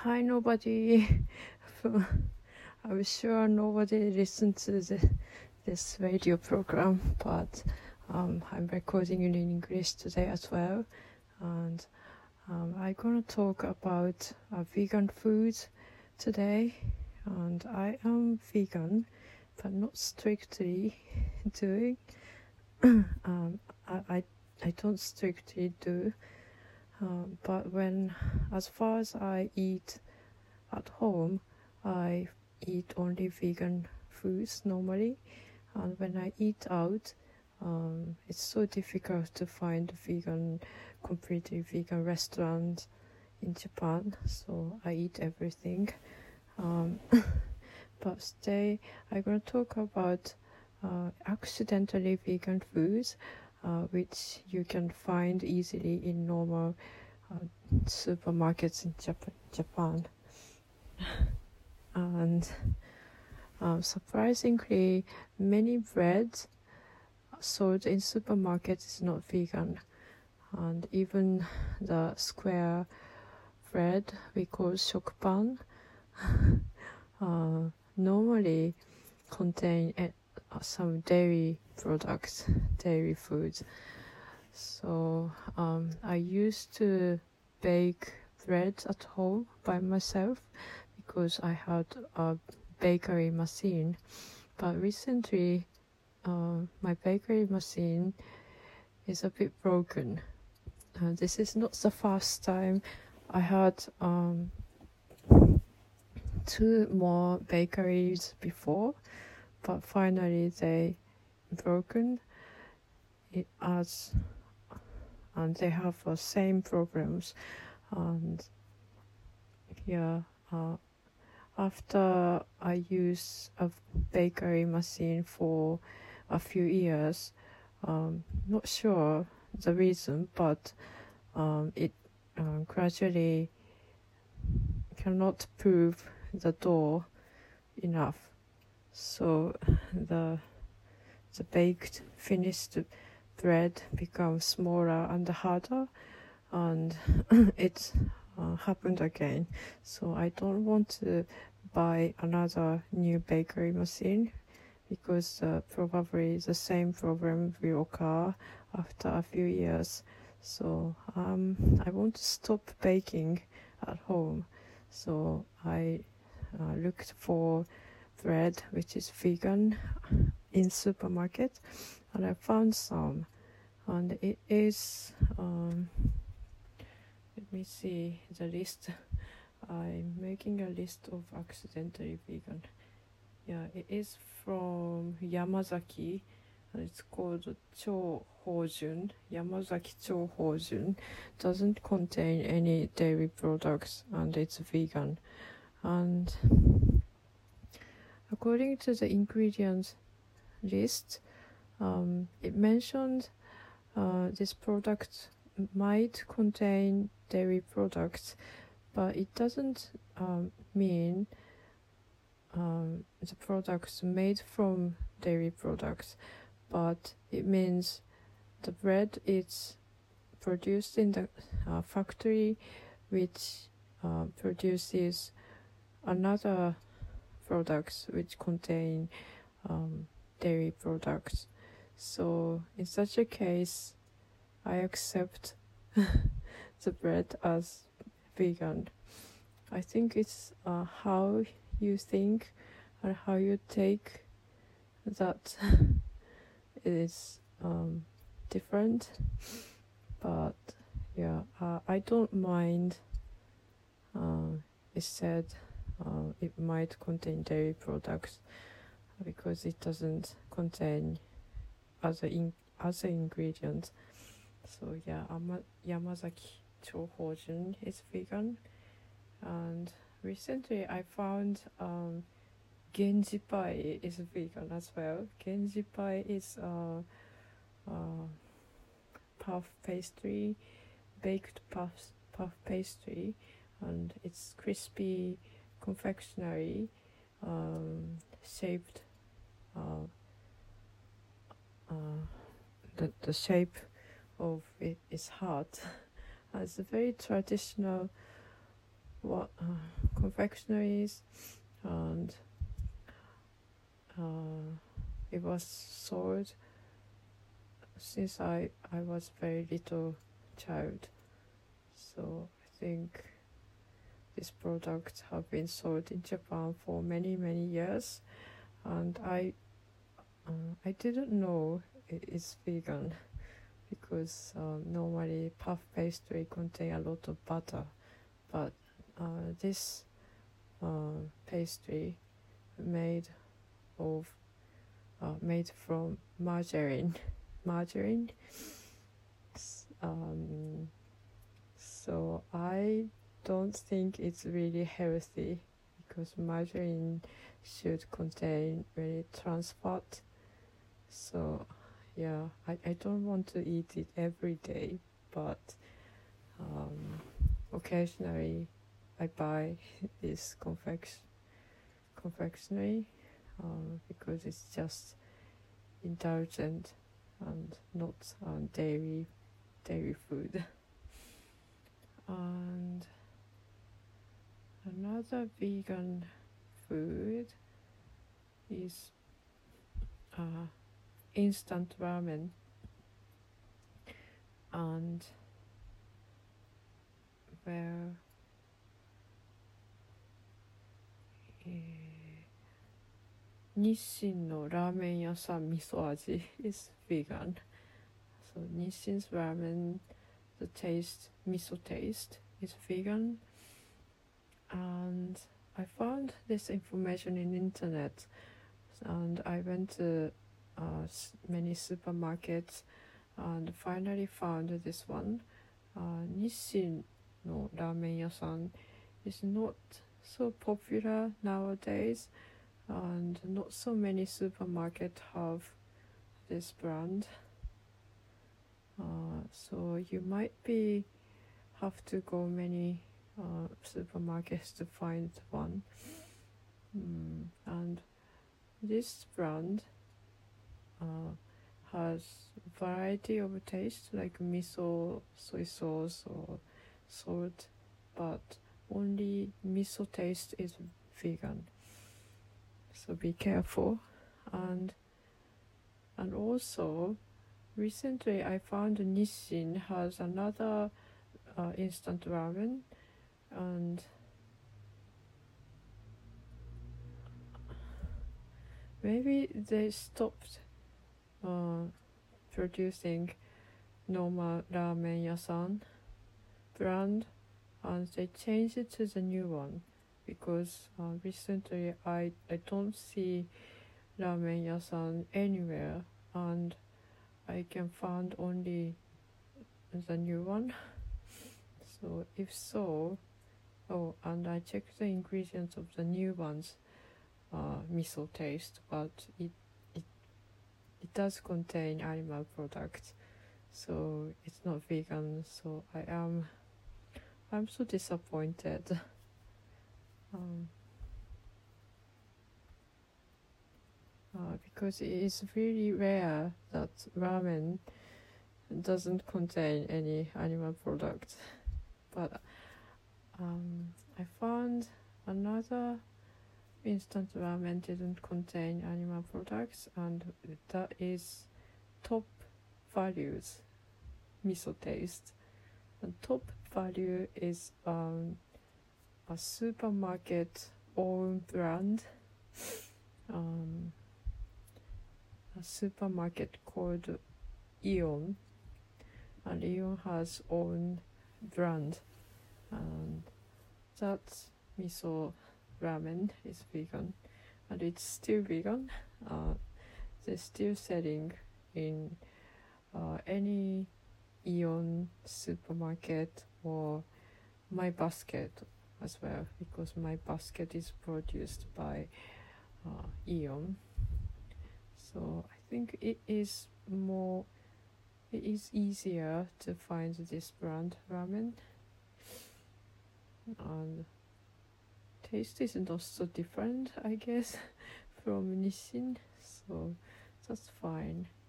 Hi, nobody. I'm sure nobody listens to this radio program, but I'm recording in English today as well. And I'm gonna talk about vegan food today. And I am vegan, but not strictly doing. I don't strictly do. But as far as I eat at home, I eat only vegan foods normally. And when I eat out, it's so difficult to find completely vegan restaurant in Japan. So I eat everything. But today I'm going to talk about accidentally vegan foods, which you can find easily in normal supermarkets in Japan. And surprisingly, many breads sold in supermarkets is not vegan. And even the square bread we call shokpan normally contain some dairy products, dairy foods. So I used to bake bread at home by myself because I had a bakery machine. But recently, my bakery machine is a bit broken. This is not the first time. I had 2 more bakeries before, but finally they broken it and they have the same problems. And after I use a bakery machine for a few years, not sure the reason, but it gradually cannot prove the dough enough. So the baked finished bread becomes smaller and harder, and it happened again. So I don't want to buy another new bakery machine because probably the same problem will occur after a few years. So I want to stop baking at home. So I looked for bread which is vegan in supermarket, and I found some, and it is let me see the list. I'm making a list of accidentally vegan. It is from Yamazaki, and it's called Chohojun. Yamazaki Chohojun doesn't contain any dairy products, and it's vegan. And according to the ingredients list, it mentioned this product might contain dairy products, but it doesn't mean the products made from dairy products, but it means the bread is produced in the factory which produces another products which contain dairy products. So in such a case, I accept the bread as vegan. I think it's how you think and how you take that is different. But I don't mind. It said it might contain dairy products because it doesn't contain other ingredients. So Yamazaki Chohojun is vegan. And recently I found Genji pie is vegan as well. Genji pie is puff pastry, baked puff pastry, and it's crispy confectionery shaped. The shape of it is heart. It's a very traditional what confectionaries, and it was sold since I was very little child. So I think this product have been sold in Japan for many years, and I didn't know it's vegan because normally puff pastry contain a lot of butter, but this pastry made from margarine. So I don't think it's really healthy because margarine should contain very trans fat. So yeah, I don't want to eat it every day, but occasionally I buy this confectionery because it's just indulgent and not dairy food. And another vegan food is instant ramen, and where Nissin no ramen yasan miso aji is vegan. So Nissin's ramen, the miso taste is vegan. And I found this information in internet, and I went to many supermarkets and finally found this one. Nissin no ramen yasan is not so popular nowadays, and not so many supermarkets have this brand. So you might have to go many supermarkets to find one. And this brand has variety of taste like miso, soy sauce, or salt, but only miso taste is vegan. So be careful. And also recently I found Nissin has another instant ramen, and maybe they stopped producing normal ramen yasan brand and they changed it to the new one, because recently I don't see ramen yasan anywhere, and I can find only the new one. So if so, and I checked the ingredients of the new one's miso taste, but it does contain animal products, so it's not vegan. So I'm so disappointed. Because it is really rare that ramen doesn't contain any animal products. But I found another instant ramen didn't contain animal products, and that is Top Values miso taste. And Top Value is a supermarket own brand, a supermarket called Ion, and Ion has own brand, and that miso ramen is vegan, and it's still vegan. They're still selling in any Ion supermarket or My Basket as well, because My Basket is produced by Ion. So I think it is easier to find this brand ramen, and taste is not so different, I guess, from Nissin, so that's fine.